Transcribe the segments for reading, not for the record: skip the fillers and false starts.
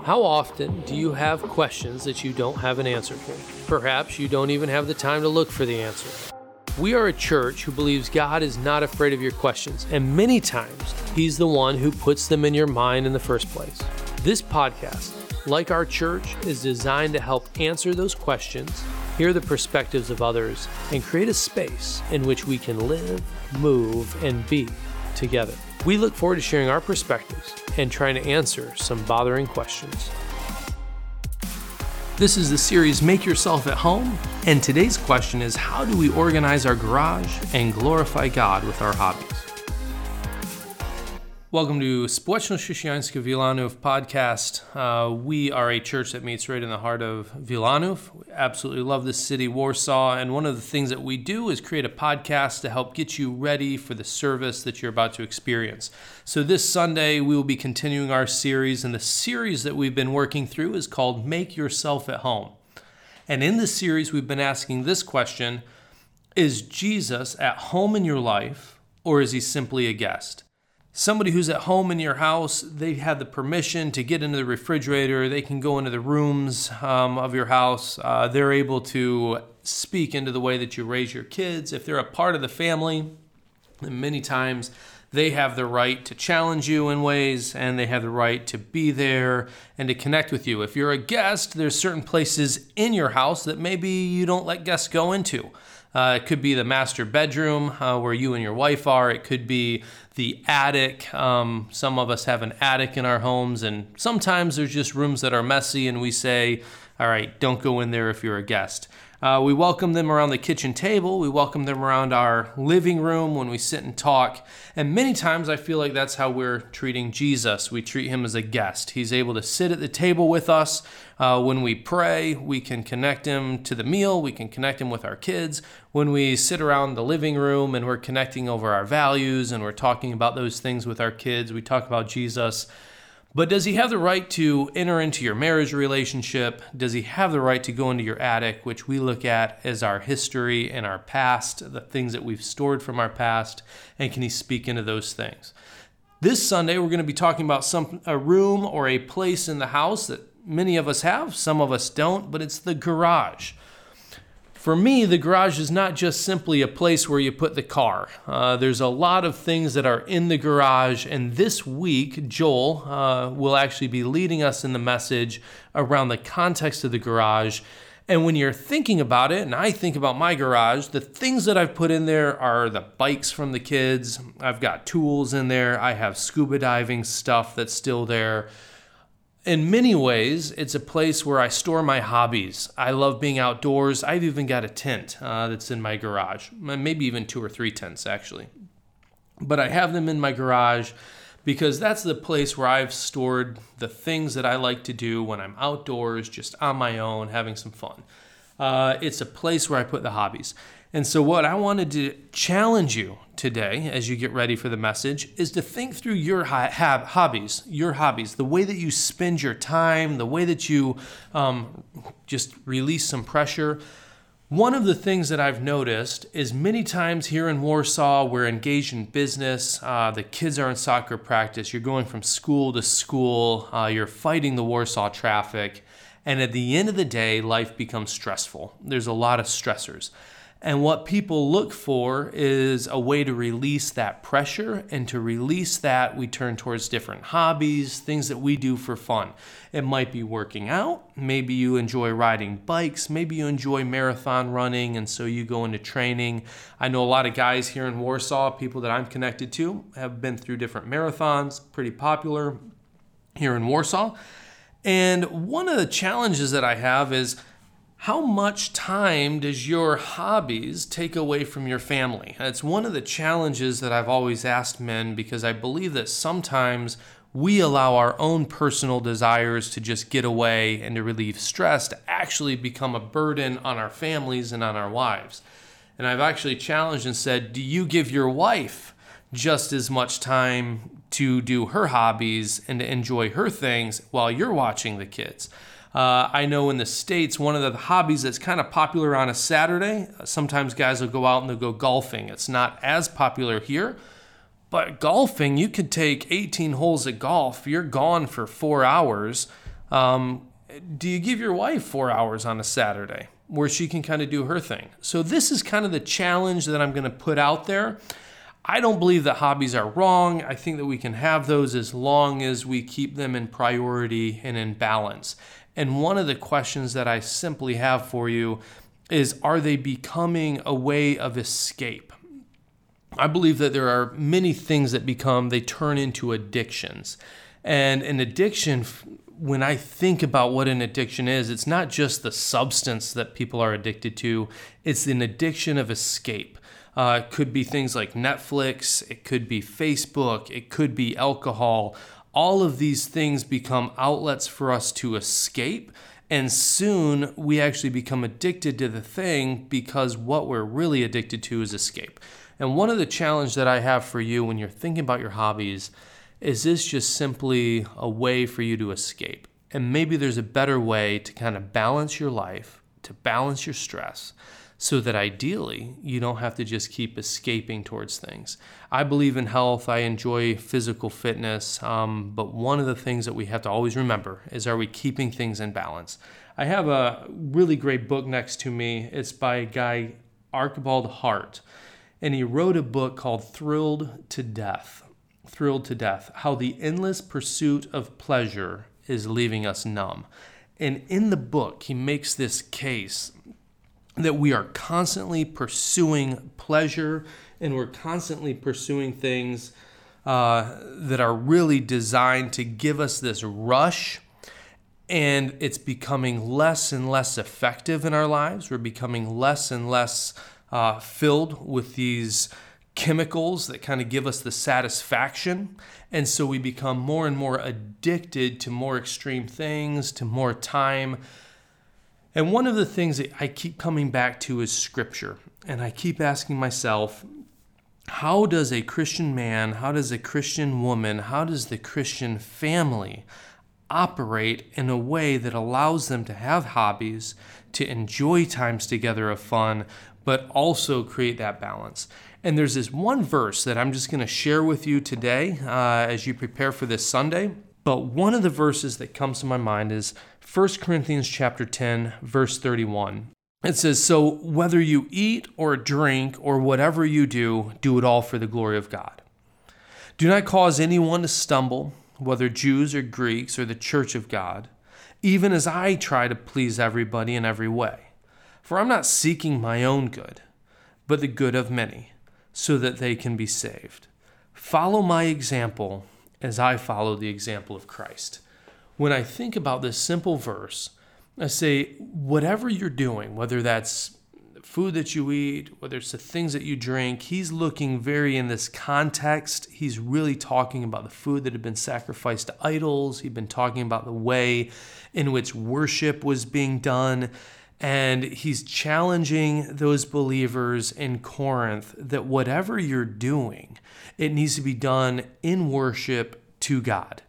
How often do you have questions that you don't have an answer for? Perhaps you don't even have the time to look for the answer. We are a church who believes God is not afraid of your questions, and many times He's the one who puts them in your mind in the first place. This podcast, like our church, is designed to help answer those questions, hear the perspectives of others, and create a space in which we can live, move, and be together. We look forward to sharing our perspectives and trying to answer some bothering questions. This is the series Make Yourself at Home, and today's question is, how do we organize our garage and glorify God with our hobbies? Welcome to Społeczność Chrześcijańska Wilanów podcast. We are a church that meets right in the heart of Wilanów. We absolutely love this city, Warsaw, and one of the things that we do is create a podcast to help get you ready for the service that you're about to experience. So this Sunday, we will be continuing our series, and the series that we've been working through is called Make Yourself at Home. And in this series, we've been asking this question: is Jesus at home in your life, or is He simply a guest? Somebody who's at home in your house, they have the permission to get into the refrigerator. They can go into the rooms of your house. They're able to speak into the way that you raise your kids. If they're a part of the family, then many times they have the right to challenge you in ways, and they have the right to be there and to connect with you. If you're a guest, there's certain places in your house that maybe you don't let guests go into. It could be the master bedroom where you and your wife are. It could be the attic. Some of us have an attic in our homes, and sometimes there's just rooms that are messy, and we say, all right, don't go in there if you're a guest. We welcome them around the kitchen table. We welcome them around our living room when we sit and talk. And many times I feel like that's how we're treating Jesus. We treat Him as a guest. He's able to sit at the table with us. When we pray, we can connect Him to the meal. We can connect Him with our kids. When we sit around the living room and we're connecting over our values and we're talking about those things with our kids, we talk about Jesus. But does He have the right to enter into your marriage relationship? Does He have the right to go into your attic, which we look at as our history and our past, the things that we've stored from our past, and can He speak into those things? This Sunday, we're going to be talking about a room or a place in the house that many of us have, some of us don't, but it's the garage. For me, the garage is not just simply a place where you put the car. There's a lot of things that are in the garage, and this week, Joel will actually be leading us in the message around the context of the garage. And when you're thinking about it, and I think about my garage, the things that I've put in there are the bikes from the kids. I've got tools in there. I have scuba diving stuff that's still there. In many ways, it's a place where I store my hobbies. I love being outdoors. I've even got a tent that's in my garage, maybe even 2 or 3 tents, actually. But I have them in my garage because that's the place where I've stored the things that I like to do when I'm outdoors, just on my own, having some fun. It's a place where I put the hobbies. And so what I wanted to challenge you today as you get ready for the message is to think through your hobbies, the way that you spend your time, the way that you just release some pressure. One of the things that I've noticed is many times here in Warsaw, we're engaged in business. The kids are in soccer practice. You're going from school to school. You're fighting the Warsaw traffic. And at the end of the day, life becomes stressful. There's a lot of stressors. And what people look for is a way to release that pressure, and to release that, we turn towards different hobbies, things that we do for fun. It might be working out. Maybe you enjoy riding bikes. Maybe you enjoy marathon running, and so you go into training. I know a lot of guys here in Warsaw, people that I'm connected to, have been through different marathons, pretty popular here in Warsaw. And one of the challenges that I have is, how much time does your hobbies take away from your family? It's one of the challenges that I've always asked men, because I believe that sometimes we allow our own personal desires to just get away and to relieve stress to actually become a burden on our families and on our wives. And I've actually challenged and said, do you give your wife just as much time to do her hobbies and to enjoy her things while you're watching the kids? I know in the States, one of the hobbies that's kind of popular on a Saturday, sometimes guys will go out and they'll go golfing. It's not as popular here, but golfing, you could take 18 holes of golf. You're gone for 4 hours. Do you give your wife 4 hours on a Saturday where she can kind of do her thing? So this is kind of the challenge that I'm going to put out there. I don't believe that hobbies are wrong. I think that we can have those as long as we keep them in priority and in balance. And one of the questions that I simply have for you is, are they becoming a way of escape? I believe that there are many things that they turn into addictions. And an addiction, when I think about what an addiction is, it's not just the substance that people are addicted to, it's an addiction of escape. It could be things like Netflix, it could be Facebook, it could be alcohol. All of these things become outlets for us to escape, and soon we actually become addicted to the thing because what we're really addicted to is escape. And one of the challenges that I have for you when you're thinking about your hobbies is this just simply a way for you to escape? And maybe there's a better way to kind of balance your life, to balance your stress, so that ideally you don't have to just keep escaping towards things. I believe in health. I enjoy physical fitness. But one of the things that we have to always remember is, are we keeping things in balance? I have a really great book next to me. It's by a guy, Archibald Hart. And he wrote a book called Thrilled to Death. Thrilled to Death, how the endless pursuit of pleasure is leaving us numb. And in the book, he makes this case that we are constantly pursuing pleasure, and we're constantly pursuing things that are really designed to give us this rush, and it's becoming less and less effective in our lives. We're becoming less and less filled with these chemicals that kind of give us the satisfaction, and so we become more and more addicted to more extreme things, to more time. And one of the things that I keep coming back to is Scripture. And I keep asking myself, how does a Christian man, how does a Christian woman, how does the Christian family operate in a way that allows them to have hobbies, to enjoy times together of fun, but also create that balance? And there's this one verse that I'm just going to share with you today as you prepare for this Sunday. But one of the verses that comes to my mind is 1 Corinthians chapter 10, verse 31. It says, "So whether you eat or drink or whatever you do, do it all for the glory of God. Do not cause anyone to stumble, whether Jews or Greeks or the church of God, even as I try to please everybody in every way. For I'm not seeking my own good, but the good of many, so that they can be saved. Follow my example as I follow the example of Christ." When I think about this simple verse, I say, whatever you're doing, whether that's food that you eat, whether it's the things that you drink, he's looking very in this context. He's really talking about the food that had been sacrificed to idols. He'd been talking about the way in which worship was being done. And he's challenging those believers in Corinth that whatever you're doing, it needs to be done in worship to God.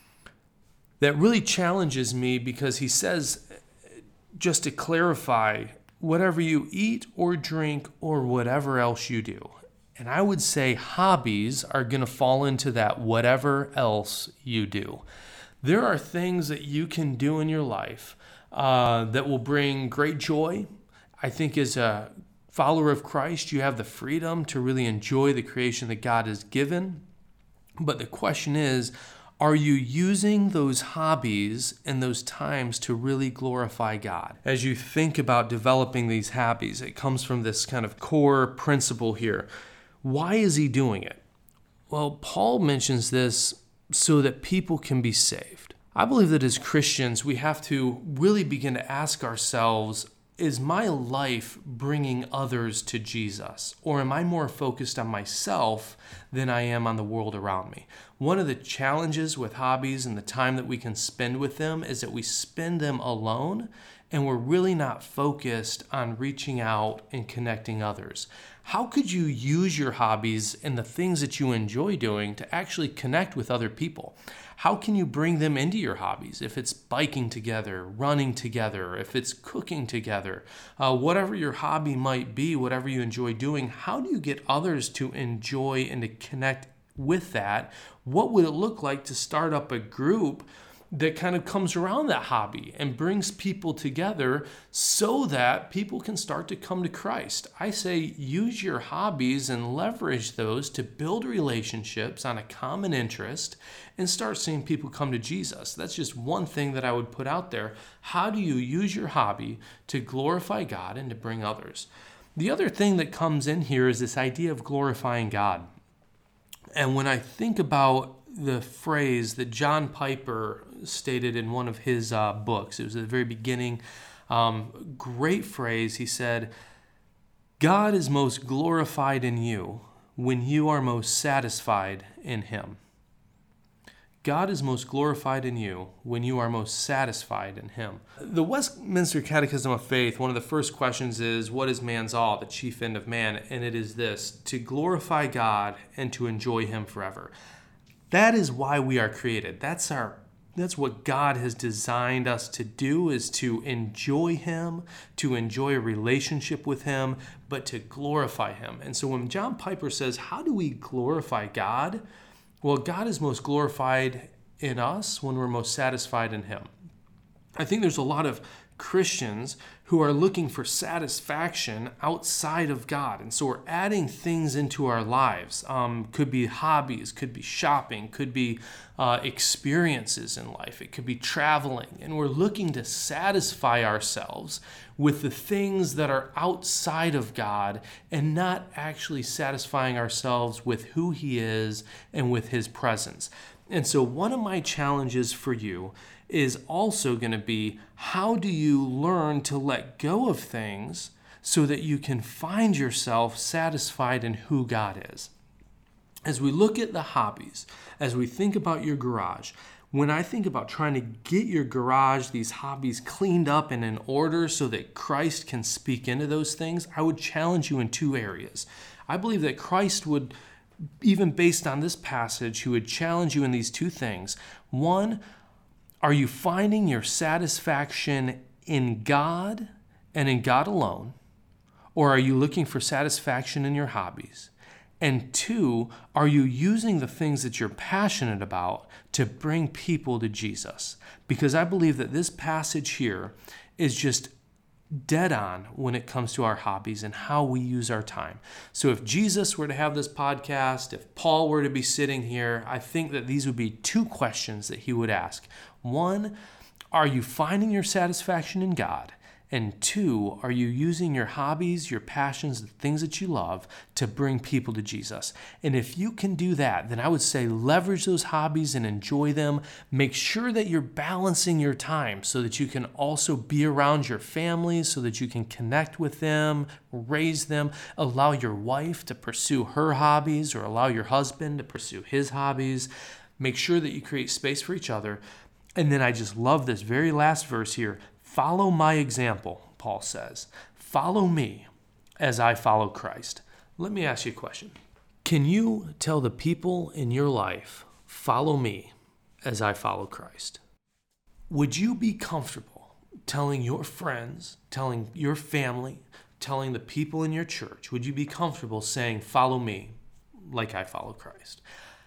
That really challenges me because he says, just to clarify, whatever you eat or drink or whatever else you do. And I would say hobbies are going to fall into that whatever else you do. There are things that you can do in your life that will bring great joy. I think as a follower of Christ, you have the freedom to really enjoy the creation that God has given. But the question is, are you using those hobbies and those times to really glorify God? As you think about developing these hobbies, it comes from this kind of core principle here. Why is he doing it? Well, Paul mentions this so that people can be saved. I believe that as Christians, we have to really begin to ask ourselves, is my life bringing others to Jesus? Or am I more focused on myself than I am on the world around me? One of the challenges with hobbies and the time that we can spend with them is that we spend them alone and we're really not focused on reaching out and connecting others. How could you use your hobbies and the things that you enjoy doing to actually connect with other people? How can you bring them into your hobbies? If it's biking together, running together, if it's cooking together, whatever your hobby might be, whatever you enjoy doing, how do you get others to enjoy and to connect with that? What would it look like to start up a group that kind of comes around that hobby and brings people together so that people can start to come to Christ. I say use your hobbies and leverage those to build relationships on a common interest and start seeing people come to Jesus. That's just one thing that I would put out there. How do you use your hobby to glorify God and to bring others? The other thing that comes in here is this idea of glorifying God. And when I think about the phrase that John Piper stated in one of his books, it was at the very beginning, great phrase. He said, God is most glorified in you when you are most satisfied in him. God is most glorified in you when you are most satisfied in him. The Westminster Catechism of Faith, one of the first questions is, what is man's all, the chief end of man? And it is this, to glorify God and to enjoy him forever. That is why we are created. That's what God has designed us to do, is to enjoy him, to enjoy a relationship with him, but to glorify him. And so when John Piper says, how do we glorify God? Well, God is most glorified in us when we're most satisfied in him. I think there's a lot of Christians who are looking for satisfaction outside of God. And so we're adding things into our lives. Could be hobbies, could be shopping, could be experiences in life. It could be traveling. And we're looking to satisfy ourselves with the things that are outside of God and not actually satisfying ourselves with who he is and with his presence. And so one of my challenges for you is also going to be, how do you learn to let go of things so that you can find yourself satisfied in who God is? As we look at the hobbies, as we think about your garage, when I think about trying to get your garage, these hobbies cleaned up and in order so that Christ can speak into those things, I would challenge you in two areas. I believe that Christ would, even based on this passage, he would challenge you in these two things. One, are you finding your satisfaction in God and in God alone? Or are you looking for satisfaction in your hobbies? And two, are you using the things that you're passionate about to bring people to Jesus? Because I believe that this passage here is just dead on when it comes to our hobbies and how we use our time. So if Jesus were to have this podcast, if Paul were to be sitting here, I think that these would be two questions that he would ask. One, are you finding your satisfaction in God? And two, are you using your hobbies, your passions, the things that you love to bring people to Jesus? And if you can do that, then I would say leverage those hobbies and enjoy them. Make sure that you're balancing your time so that you can also be around your family, so that you can connect with them, raise them, allow your wife to pursue her hobbies or allow your husband to pursue his hobbies. Make sure that you create space for each other. And then I just love this very last verse here. Follow my example, Paul says. Follow me as I follow Christ. Let me ask you a question. Can you tell the people in your life, follow me as I follow Christ? Would you be comfortable telling your friends, telling your family, telling the people in your church, would you be comfortable saying, follow me like I follow Christ?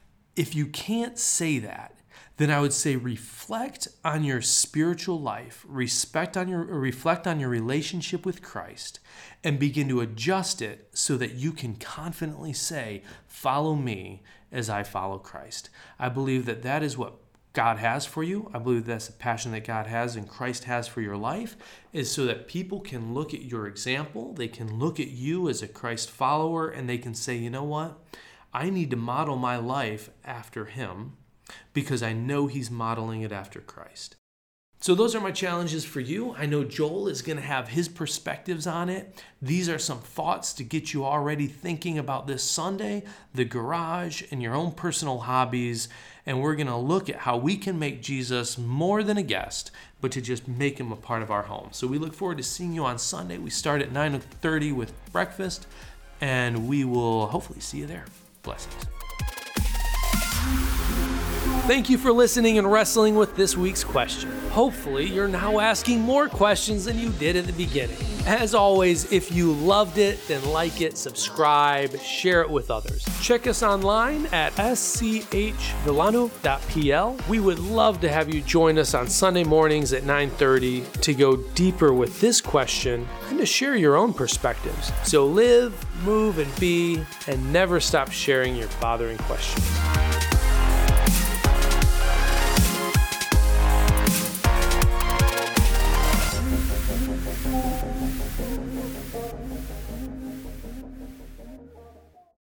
If you can't say that, then I would say reflect on your spiritual life, reflect on your relationship with Christ, and begin to adjust it so that you can confidently say, follow me as I follow Christ. I believe that that is what God has for you. I believe that's the passion that God has and Christ has for your life, is so that people can look at your example, they can look at you as a Christ follower, and they can say, you know what? I need to model my life after him, because I know he's modeling it after Christ. So those are my challenges for you. I know Joel is going to have his perspectives on it. These are some thoughts to get you already thinking about this Sunday, the garage, and your own personal hobbies. And we're going to look at how we can make Jesus more than a guest, but to just make him a part of our home. So we look forward to seeing you on Sunday. We start at 9:30 with breakfast, and we will hopefully see you there. Blessings. Thank you for listening and wrestling with this week's question. Hopefully, you're now asking more questions than you did at the beginning. As always, if you loved it, then like it, subscribe, share it with others. Check us online at schvillano.pl. We would love to have you join us on Sunday mornings at 9:30 to go deeper with this question and to share your own perspectives. So live, move, and be, and never stop sharing your bothering questions.